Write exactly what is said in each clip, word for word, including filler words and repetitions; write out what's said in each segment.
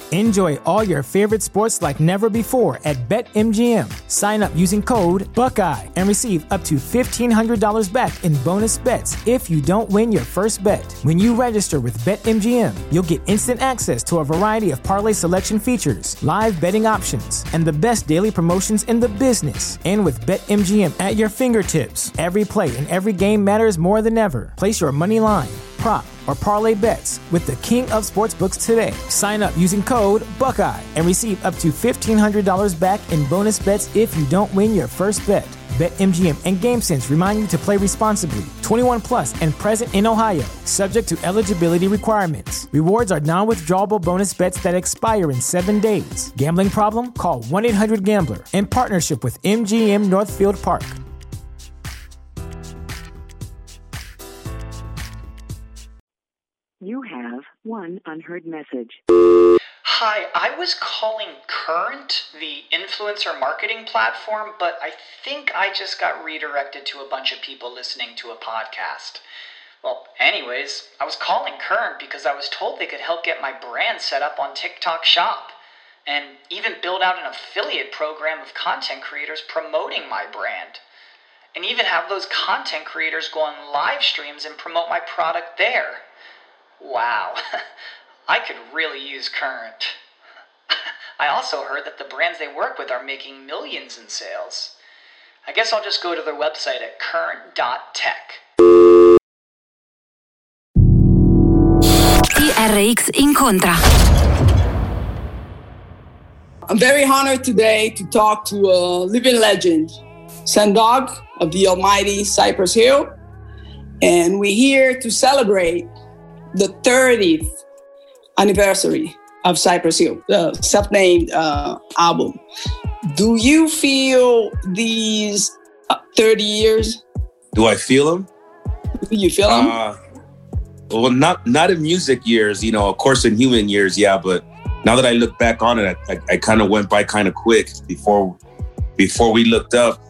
Enjoy all your favorite sports like never before at BetMGM. Sign up using code Buckeye and receive up to fifteen hundred dollars back in bonus bets if you don't win your first bet. When you register with BetMGM, you'll get instant access to a variety of parlay selection features, live betting options, and the best daily promotions in the business. And with BetMGM at your fingertips, every play and every game matters more than ever. Place your money line, prop, or parlay bets with the king of sportsbooks today. Sign up using code Buckeye and receive up to fifteen hundred dollars back in bonus bets if you don't win your first bet. BetMGM and GameSense remind you to play responsibly. twenty-one plus and present in Ohio, subject to eligibility requirements. Rewards are non-withdrawable bonus bets that expire in seven days. Gambling problem? Call one eight hundred gambler in partnership with M G M Northfield Park. You have one unheard message. Hi, I was calling Current, the influencer marketing platform, but I think I just got redirected to a bunch of people listening to a podcast. Well, anyways, I was calling Current because I was told they could help get my brand set up on TikTok Shop and even build out an affiliate program of content creators promoting my brand. And even have those content creators go on live streams and promote my product there. Wow, I could really use Current. I also heard that the brands they work with are making millions in sales. I guess I'll just go to their website at current dot tech. T R X Incontra. I'm very honored today to talk to a living legend, Sandog of the almighty Cypress Hill. And we're here to celebrate the thirtieth anniversary of Cypress Hill, the self-named uh, album. Do you feel these uh, thirty years? Do I feel them? Do you feel them? Uh, well, not not in music years, you know, of course in human years, yeah, but now that I look back on it, I, I, I kind of went by kind of quick. Before before we looked up,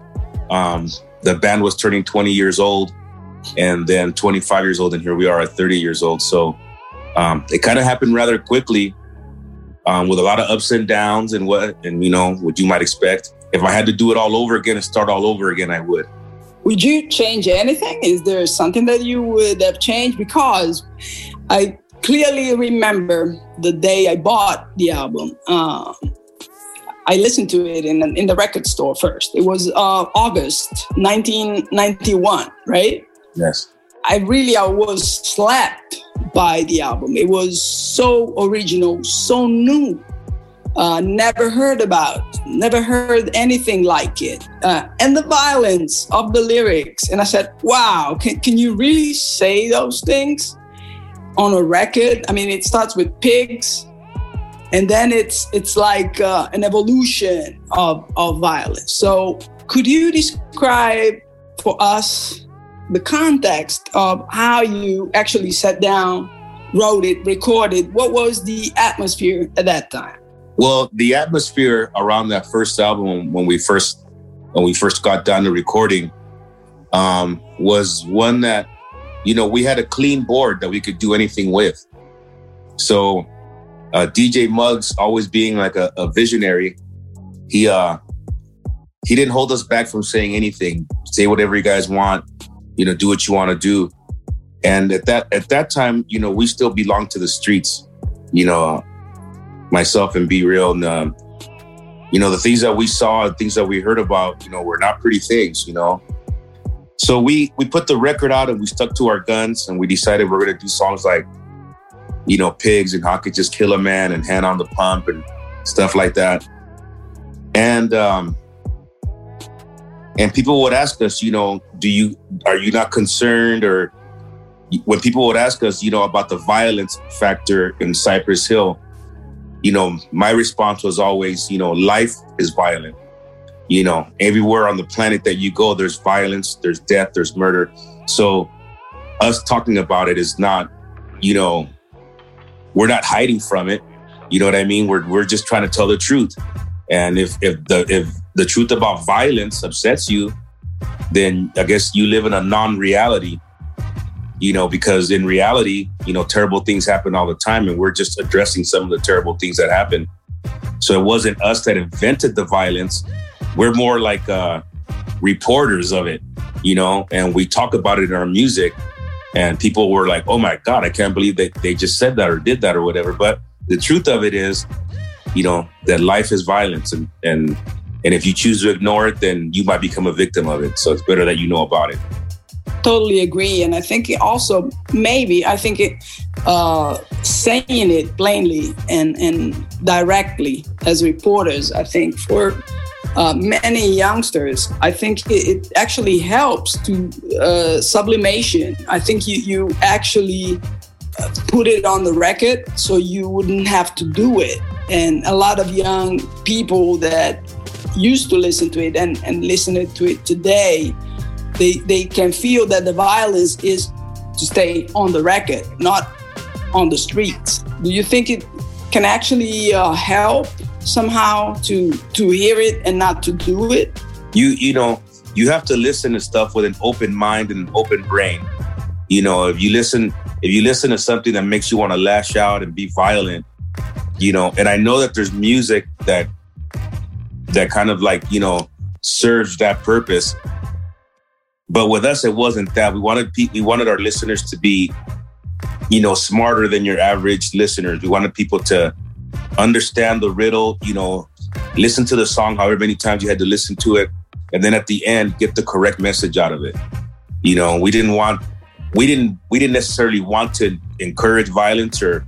um, the band was turning twenty years old. And then twenty-five years old, and here we are at thirty years old. So um, it kind of happened rather quickly, um, with a lot of ups and downs and what, and you know, what you might expect. If I had to do it all over again and start all over again, I would. Would you change anything? Is there something that you would have changed? Because I clearly remember the day I bought the album. Um, I listened to it in in the record store first. It was uh, August nineteen ninety-one, right? Yes. I really, I was slapped by the album. It was so original, so new. Uh, never heard about, never heard anything like it. Uh, and the violence of the lyrics. And I said, wow, can, can you really say those things on a record? I mean, it starts with pigs, and then it's it's like uh, an evolution of, of violence. So could you describe for us the context of how you actually sat down, wrote it, recorded? What was the atmosphere at that time? Well, the atmosphere around that first album, when we first when we first got down to recording, um, was one that, you know, we had a clean board that we could do anything with. So uh, D J Muggs, always being like a, a visionary, he uh, he didn't hold us back from saying anything. Say whatever you guys want. You know, do what you want to do. And at that at that time, you know, we still belonged to the streets, you know, myself and Be Real. And, um, you know, the things that we saw and things that we heard about, you know, were not pretty things, you know. So we we put the record out and we stuck to our guns, and we decided we're going to do songs like, you know, Pigs and How I Could Just Kill a Man and Hand on the Pump and stuff like that. And, um, And people would ask us, you know, do you, are you not concerned? Or when people would ask us, you know, about the violence factor in Cypress Hill, you know, my response was always, you know, life is violent. You know, everywhere on the planet that you go, there's violence, there's death, there's murder. So us talking about it is not, you know, we're not hiding from it. You know what I mean? We're we're just trying to tell the truth. And if if the if the truth about violence upsets you, then I guess you live in a non-reality. you know, because in reality, you know, terrible things happen all the time, and we're just addressing some of the terrible things that happen. So it wasn't us that invented the violence. We're more like uh, reporters of it, you know, and we talk about it in our music, and people were like, oh my God, I can't believe that they just said that or did that or whatever. But the truth of it is, you know, that life is violence, and, and, and if you choose to ignore it, then you might become a victim of it. So it's better that you know about it. Totally agree. And I think it also, maybe, I think it, uh, saying it plainly and, and directly as reporters, I think for uh, many youngsters, I think it, it actually helps to uh, sublimation. I think you, you actually put it on the record so you wouldn't have to do it. And a lot of young people that used to listen to it and, and listen to it today, They they can feel that the violence is to stay on the record, not on the streets. Do you think it can actually uh, help somehow to to hear it and not to do it? You you know, you have to listen to stuff with an open mind and an open brain. You know, if you listen if you listen to something that makes you want to lash out and be violent, you know, and I know that there's music that that kind of like, you know, serves that purpose. But with us, it wasn't that. We wanted pe- we wanted our listeners to be, you know, smarter than your average listeners. We wanted people to understand the riddle, you know, listen to the song however many times you had to listen to it, and then at the end, get the correct message out of it. You know, we didn't want, we didn't, we didn't necessarily want to encourage violence or,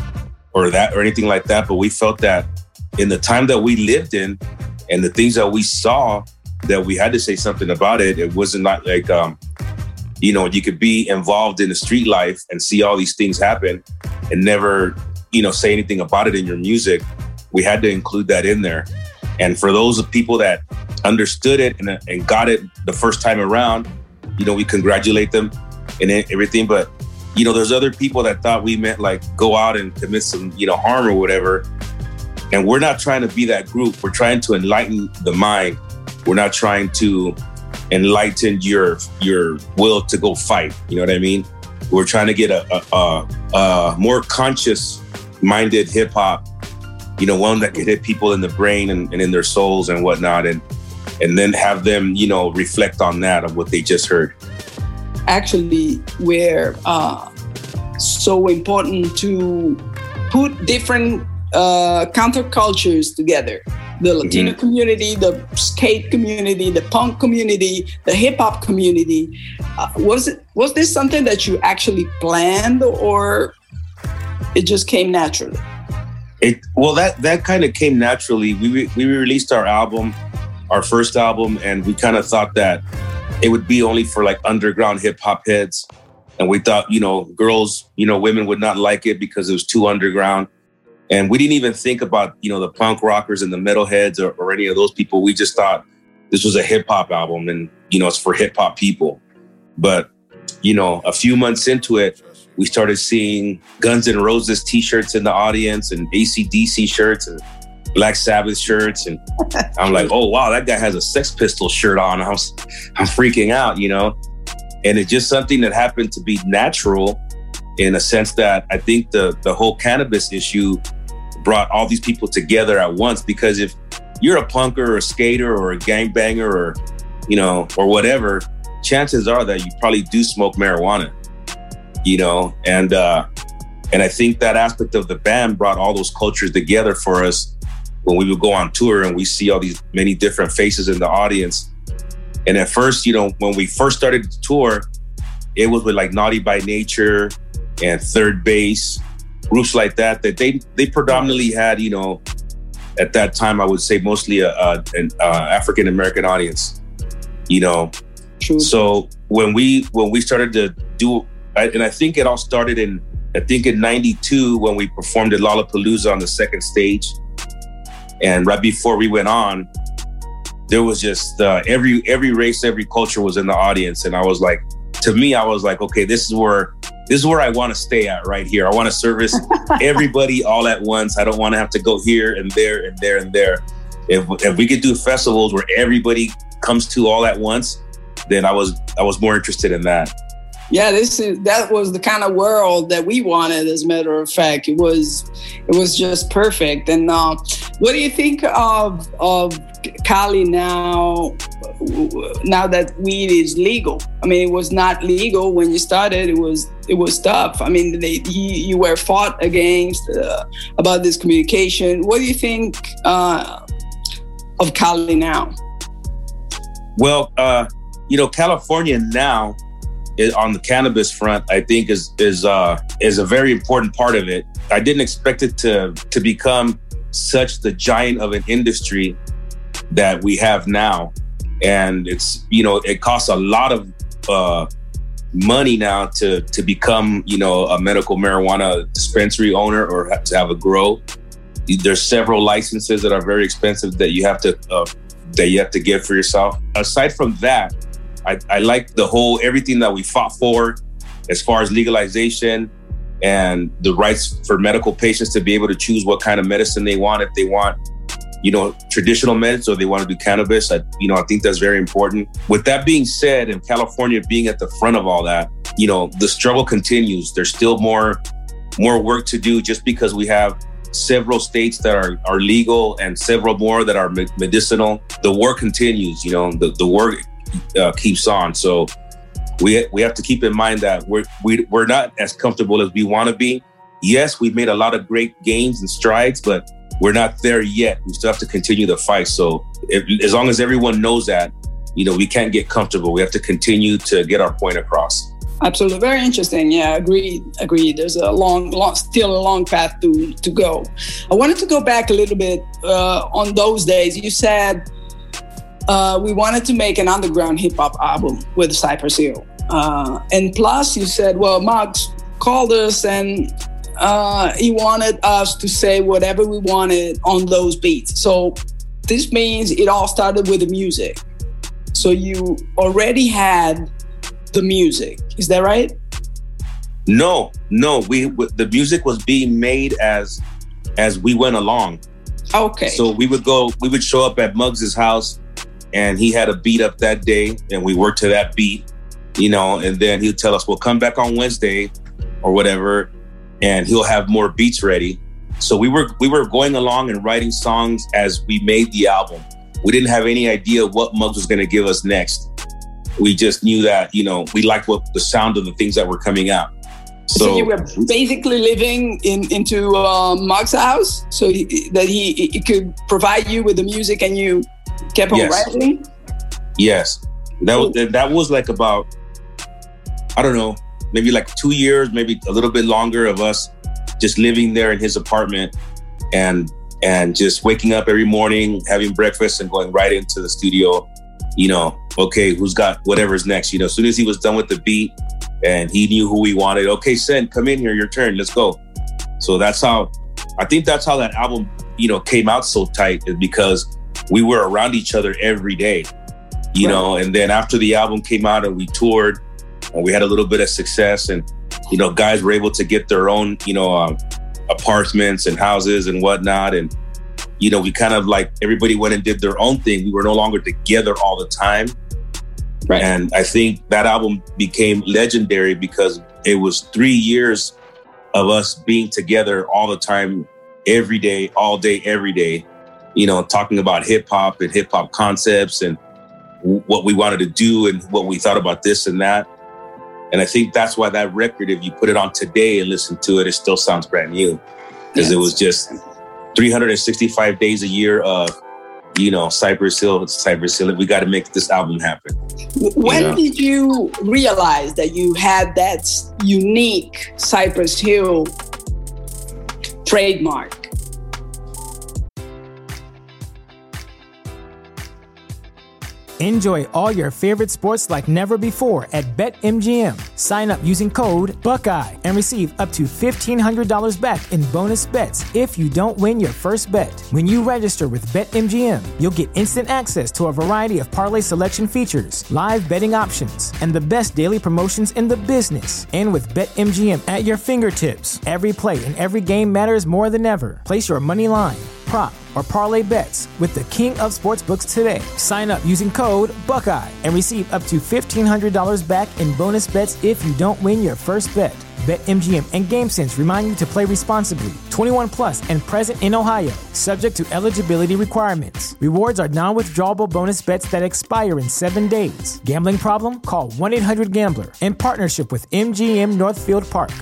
or that or anything like that. But we felt that in the time that we lived in, and the things that we saw, that we had to say something about it. It wasn't like, like um, you know, you could be involved in the street life and see all these things happen and never, you know, say anything about it in your music. We had to include that in there. And for those people that understood it and, and got it the first time around, you know, we congratulate them and everything. But, you know, there's other people that thought we meant like go out and commit some, you know, harm or whatever. And we're not trying to be that group. We're trying to enlighten the mind. We're not trying to enlighten your your will to go fight. You know what I mean? We're trying to get a, a, a, a more conscious-minded hip-hop, you know, one that can hit people in the brain and, and in their souls and whatnot, and and then have them, you know, reflect on that, of what they just heard. Actually, we're uh, so important to put different uh, countercultures together. The Latino mm-hmm. community, the skate community, the punk community, the hip hop community. Uh, was it was this something that you actually planned, or it just came naturally? It well, that that kind of came naturally. We re- we released our album, our first album, and we kind of thought that it would be only for like underground hip hop heads, and we thought, you know, girls, you know, women would not like it because it was too underground. And we didn't even think about, you know, the punk rockers and the metalheads or, or any of those people. We just thought this was a hip hop album and, you know, it's for hip hop people. But, you know, a few months into it, we started seeing Guns N' Roses t-shirts in the audience and A C D C shirts and Black Sabbath shirts. And I'm like, oh, wow, that guy has a Sex Pistols shirt on. I'm, I'm freaking out, you know. And it's just something that happened to be natural in a sense that I think the the whole cannabis issue brought all these people together at once. Because if you're a punker or a skater or a gangbanger or, you know, or whatever, chances are that you probably do smoke marijuana, you know, and uh, and I think that aspect of the band brought all those cultures together for us when we would go on tour and we see all these many different faces in the audience. And at first, you know, when we first started the tour, it was with like Naughty by Nature and Third Base, groups like that, that they they predominantly had, you know, at that time, I would say mostly a, a, an uh, African-American audience, you know. True. So when we when we started to do, and I think it all started in, I think in ninety-two when we performed at Lollapalooza on the second stage. And right before we went on, there was just uh, every every race, every culture was in the audience. And I was like, to me, I was like, okay, this is where This is where I want to stay at right here. I want to service everybody all at once. I don't want to have to go here and there and there and there. If if we could do festivals where everybody comes to all at once, then I was I was more interested in that. Yeah, this is that was the kind of world that we wanted. As a matter of fact, it was it was just perfect. And uh, what do you think of of Cali now? Now that weed is legal, I mean, it was not legal when you started. It was it was tough. I mean, they, you, you were fought against uh, about this communication. What do you think uh, of Cali now? Well, uh, you know, California now, is, on the cannabis front, I think is is uh, is a very important part of it. I didn't expect it to to become such the giant of an industry that we have now. And it's, you know, it costs a lot of uh, money now to to become, you know, a medical marijuana dispensary owner or have to have a grow. There's several licenses that are very expensive that you have to uh, that you have to get for yourself. Aside from that, I, I like the whole everything that we fought for as far as legalization and the rights for medical patients to be able to choose what kind of medicine they want, if they want, you know, traditional meds or they want to do cannabis. I, you know, I think that's very important. With that being said, and California being at the front of all that, you know, the struggle continues. There's still more, more work to do just because we have several states that are, are legal and several more that are medicinal. The work continues, you know, the, the work uh, keeps on. So we we have to keep in mind that we're, we, we're not as comfortable as we want to be. Yes, we've made a lot of great gains and strides, but we're not there yet. We still have to continue the fight. So if, as long as everyone knows that, you know, we can't get comfortable. We have to continue to get our point across. Absolutely. Very interesting. Yeah, agreed. Agreed. There's a long, long, still a long path to, to go. I wanted to go back a little bit uh, on those days. You said uh, we wanted to make an underground hip hop album with Cypress Hill. Uh, and plus you said, well, Muggs called us and Uh, he wanted us to say whatever we wanted on those beats. So this means it all started with the music. So you already had the music. Is that right? No, no. We the music was being made as as we went along. Okay. So we would go, we would show up at Muggs's house, and he had a beat up that day, and we worked to that beat, you know. And then he'd tell us, "Well, come back on Wednesday, or whatever." And he'll have more beats ready. So we were we were going along and writing songs as we made the album. We didn't have any idea what Muggs was going to give us next. We just knew that, you know, we liked what the sound of the things that were coming out. So, so you were basically living in into uh, Muggs' house, so he, that he, he could provide you with the music, and you kept on yes. writing. Yes, that was that was like about, I don't know, maybe like two years, maybe a little bit longer of us just living there in his apartment and and just waking up every morning, having breakfast and going right into the studio. You know, okay, who's got whatever's next? You know, as soon as he was done with the beat and he knew who we wanted, okay, Sen, come in here, your turn, let's go. So that's how, I think that's how that album, you know, came out so tight, is because we were around each other every day, you right. know, and then after the album came out and we toured, and we had a little bit of success, and, you know, guys were able to get their own, you know, um, apartments and houses and whatnot. And, you know, we kind of like, everybody went and did their own thing. We were no longer together all the time. Right. And I think that album became legendary because it was three years of us being together all the time, every day, all day, every day, you know, talking about hip hop and hip hop concepts and w- what we wanted to do and what we thought about this and that. And I think that's why that record, if you put it on today and listen to it, it still sounds brand new. Because yes. it was just three hundred sixty-five days a year of, you know, Cypress Hill, Cypress Hill. We got to make this album happen. When you know? did you realize that you had that unique Cypress Hill trademark? Enjoy all your favorite sports like never before at BetMGM. Sign up using code Buckeye and receive up to fifteen hundred dollars back in bonus bets if you don't win your first bet. When you register with BetMGM, you'll get instant access to a variety of parlay selection features, live betting options, and the best daily promotions in the business. And with BetMGM at your fingertips, every play and every game matters more than ever. Place your money line, prop or parlay bets with the king of sportsbooks today. Sign up using code Buckeye and receive up to fifteen hundred dollars back in bonus bets if you don't win your first bet. BetMGM and GameSense remind you to play responsibly. twenty-one plus and present in Ohio, subject to eligibility requirements. Rewards are non-withdrawable bonus bets that expire in seven days. Gambling problem? Call one eight hundred gambler in partnership with M G M Northfield Park.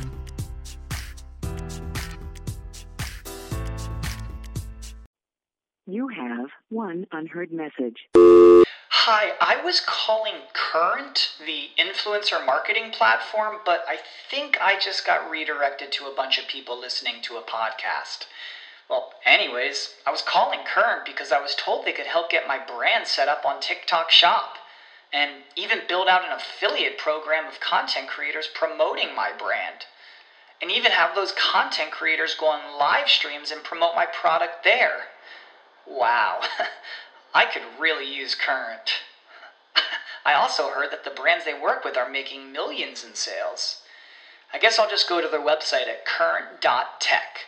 You have one unheard message. Hi, I was calling Current, the influencer marketing platform, but I think I just got redirected to a bunch of people listening to a podcast. Well, anyways, I was calling Current because I was told they could help get my brand set up on TikTok Shop and even build out an affiliate program of content creators promoting my brand. And even have those content creators go on live streams and promote my product there. Wow, I could really use Current. I also heard that the brands they work with are making millions in sales. I guess I'll just go to their website at current dot tech.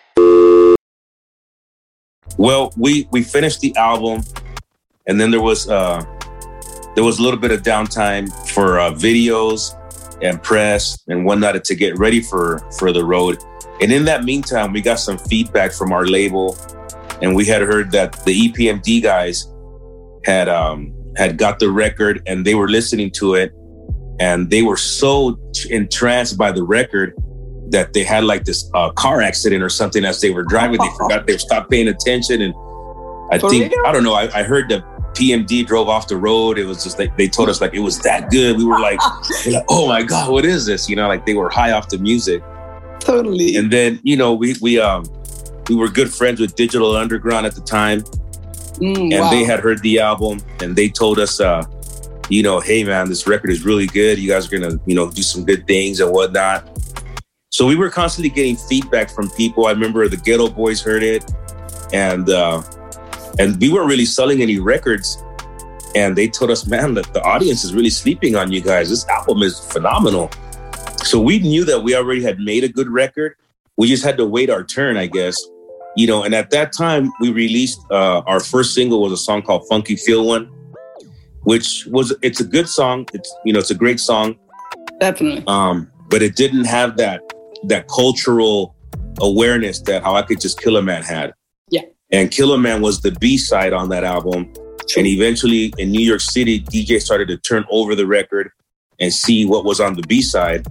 Well, we we finished the album, and then there was uh, there was a little bit of downtime for uh, videos and press and whatnot to get ready for for the road. And in that meantime, we got some feedback from our label. And we had heard that the E P M D guys had um, had got the record and they were listening to it. And they were so entranced by the record that they had like this uh, car accident or something as they were driving. They forgot, they stopped paying attention. And I For think, real? I don't know, I, I heard that P M D drove off the road. It was just like, they told us like it was that good. We were like, like, oh my God, what is this? You know, like they were high off the music. Totally. And then, you know, we, we, um, We were good friends with Digital Underground at the time. Mm, and wow. They had heard the album and they told us, uh, you know, hey man, this record is really good. You guys are going to, you know, do some good things and whatnot. So we were constantly getting feedback from people. I remember the Ghetto Boys heard it and, uh, and we weren't really selling any records. And they told us, man, that the audience is really sleeping on you guys. This album is phenomenal. So we knew that we already had made a good record. We just had to wait our turn, I guess. You know, and at that time, we released uh, our first single was a song called Funky Feel One, which was, it's a good song. It's, you know, it's a great song. Definitely. Um, but it didn't have that that cultural awareness that How I Could Just Kill a Man had. Yeah. And Kill a Man was the B-side on that album. True. And eventually in New York City, D Js started to turn over the record and see what was on the B-side.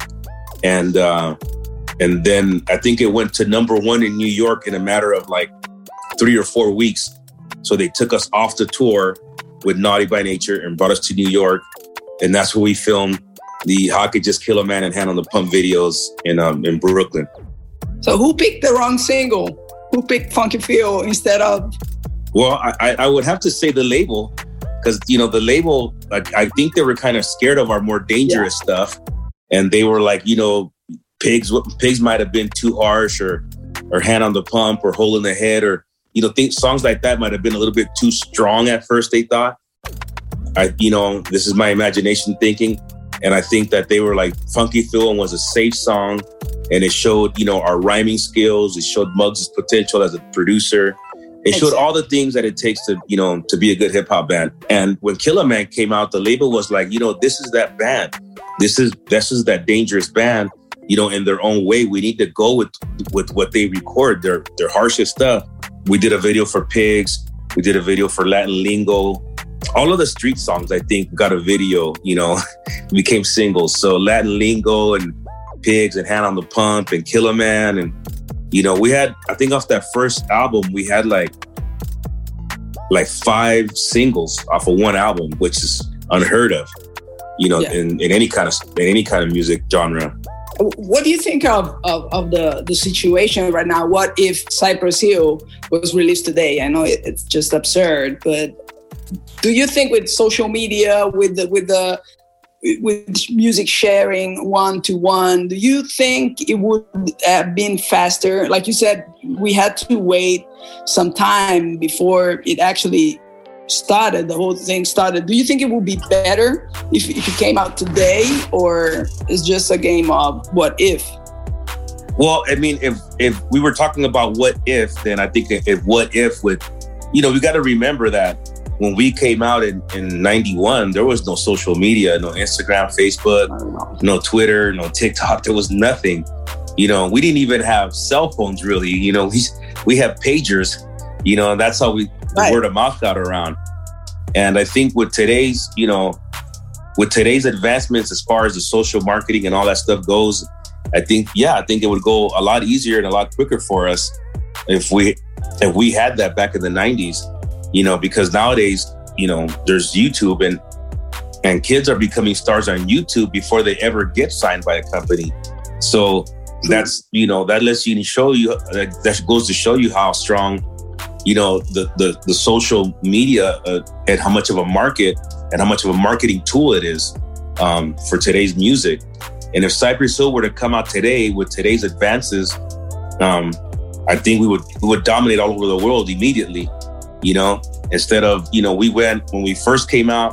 And, uh, And then I think it went to number one in New York in a matter of like three or four weeks. So they took us off the tour with Naughty by Nature and brought us to New York. And that's where we filmed the How I Could Just Kill a Man and Hand on the Pump videos in um, in Brooklyn. So who picked the wrong single? Who picked Funky Feel instead of? Well, I, I would have to say the label. Because, you know, the label, I, I think they were kind of scared of our more dangerous yeah. stuff. And they were like, you know, Pigs, pigs might have been too harsh, or, or Hand on the Pump, or Hole in the Head, or you know, think songs like that might have been a little bit too strong at first. They thought, I, you know, this is my imagination thinking, and I think that they were like, Funky Feel was a safe song, and it showed, you know, our rhyming skills. It showed Muggs' potential as a producer. It showed all the things that it takes to, you know, to be a good hip hop band. And when Kill a Man came out, the label was like, you know, this is that band. This is this is that dangerous band. You know, in their own way, we need to go with with what they record, their their harshest stuff. We did a video for Pigs. We did a video for Latin Lingo. All of the street songs, I think, got a video, you know, became singles. So Latin Lingo and Pigs and Hand on the Pump and Kill a Man. And, you know, we had, I think off that first album, we had like, like five singles off of one album, which is unheard of, you know, yeah. in, in any kind of in any kind of music genre. What do you think of, of, of the, the situation right now? What if Cypress Hill was released today? I know it, it's just absurd, but do you think with social media, with the, with the with music sharing one to one, do you think it would have been faster? Like you said, we had to wait some time before it actually started, the whole thing started. Do you think it would be better if, if it came out today, or it's just a game of what if? Well, I mean, if if we were talking about what if, then I think if what if would, you know, we got to remember that when we came out in, in ninety-one, there was no social media, no Instagram, Facebook, no Twitter, no TikTok. There was nothing. You know, we didn't even have cell phones, really. You know, we we have pagers, you know, and that's how we Right. the word of mouth got around. And I think with today's, you know, with today's advancements as far as the social marketing and all that stuff goes, I think, yeah, I think it would go a lot easier and a lot quicker for us if we if we had that back in the nineties, you know, because nowadays, you know, there's YouTube and and kids are becoming stars on YouTube before they ever get signed by a company. So that's, you know, that lets you show you, that goes to show you how strong, you know, the the, the social media uh, and how much of a market and how much of a marketing tool it is um, for today's music. And if Cypress Hill were to come out today with today's advances, um, I think we would we would dominate all over the world immediately. You know, instead of, you know, we went when we first came out,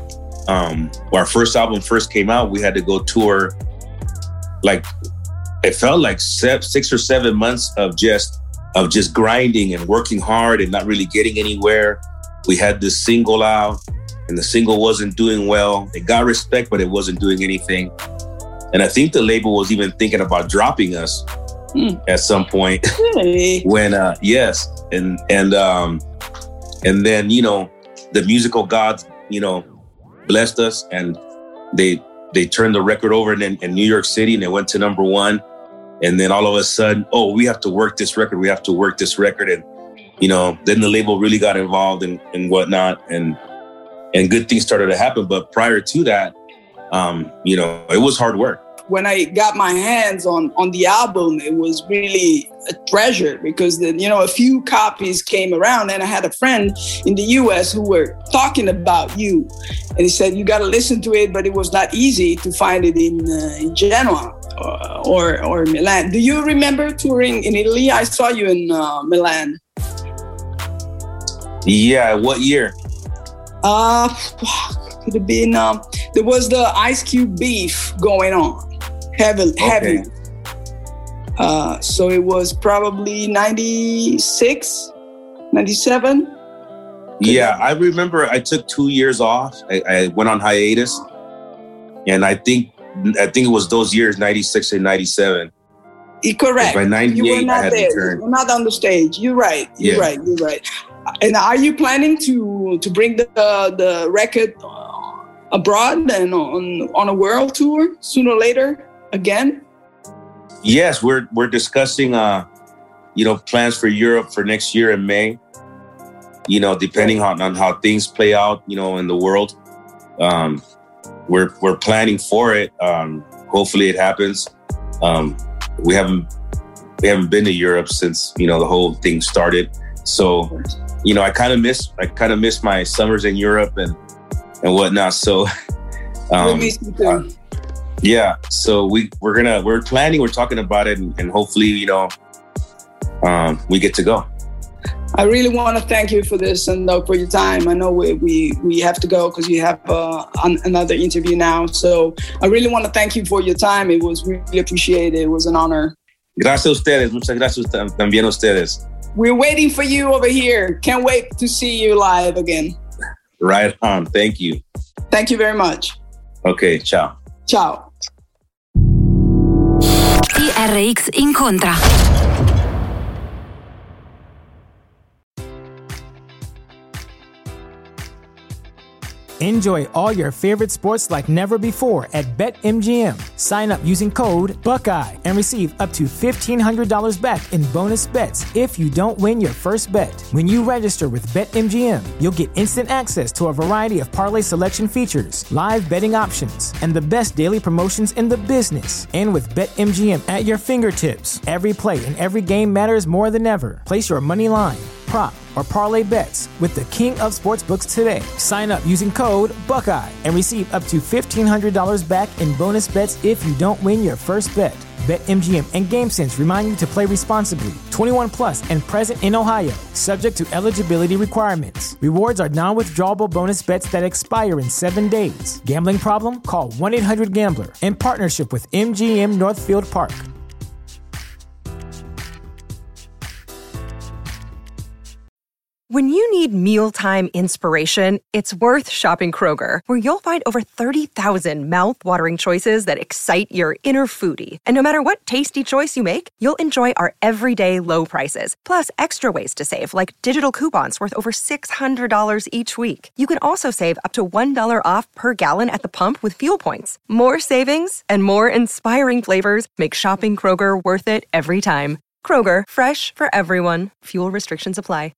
um, when our first album first came out, we had to go tour. Like it felt like six or seven months of just of just grinding and working hard and not really getting anywhere. We had this single out, and the single wasn't doing well. It got respect, but it wasn't doing anything. And I think the label was even thinking about dropping us mm. at some point. Really? when, uh, yes. And, and, um, and then, you know, the musical gods, you know, blessed us, and they, they turned the record over in, in New York City, and it went to number one. And then all of a sudden, oh, we have to work this record. We have to work this record. And, you know, then the label really got involved and, and whatnot. And, and good things started to happen. But prior to that, Um, you know, it was hard work. When I got my hands on, on the album, it was really a treasure because, then, you know, a few copies came around, and I had a friend in the U S who were talking about you. And he said, you got to listen to it, but it was not easy to find it in, uh, in Genoa or, or, or Milan. Do you remember touring in Italy? I saw you in uh, Milan. Yeah, what year? Uh, could have been, um, there was the Ice Cube beef going on. Heavy, okay. heavy. Uh, so it was probably ninety-six, ninety-seven. Yeah, I remember I took two years off. I, I went on hiatus. And I think I think it was those years, ninety-six and ninety-seven. Correct. By ninety-eight, you were not I had there. returned. You were not on the stage. You're right. You're Yeah. right. You're right. And are you planning to to bring the uh, the record abroad and on on a world tour sooner or later again? Yes, we're we're discussing uh, you know, plans for Europe for next year in May. You know, depending on, on how things play out, you know, in the world. Um, we're we're planning for it. Um, hopefully it happens. Um, we haven't we haven't been to Europe since, you know, the whole thing started. So, you know, I kind of miss I kind of miss my summers in Europe and and whatnot. So, um, uh, yeah. So we we're gonna we're planning. We're talking about it, and, and hopefully, you know, um, we get to go. I really want to thank you for this and uh, for your time. I know we we, we have to go because you have uh, an, another interview now. So I really want to thank you for your time. It was really appreciated. It was an honor. Gracias a ustedes. Muchas gracias también a ustedes. We're waiting for you over here. Can't wait to see you live again. Right on. Thank you. Thank you very much. Okay, ciao. Ciao. T R X incontra. Enjoy all your favorite sports like never before at BetMGM. Sign up using code Buckeye and receive up to fifteen hundred dollars back in bonus bets if you don't win your first bet. When you register with BetMGM, you'll get instant access to a variety of parlay selection features, live betting options, and the best daily promotions in the business. And with BetMGM at your fingertips, every play and every game matters more than ever. Place your money line, prop, or parlay bets with the king of sportsbooks today. Sign up using code Buckeye and receive up to fifteen hundred dollars back in bonus bets if you don't win your first bet. BetMGM and GameSense remind you to play responsibly. twenty-one plus and present in Ohio, subject to eligibility requirements. Rewards are non-withdrawable bonus bets that expire in seven days. Gambling problem? Call one eight hundred gambler in partnership with M G M Northfield Park. When you need mealtime inspiration, it's worth shopping Kroger, where you'll find over thirty thousand mouth-watering choices that excite your inner foodie. And no matter what tasty choice you make, you'll enjoy our everyday low prices, plus extra ways to save, like digital coupons worth over six hundred dollars each week. You can also save up to one dollar off per gallon at the pump with fuel points. More savings and more inspiring flavors make shopping Kroger worth it every time. Kroger, fresh for everyone. Fuel restrictions apply.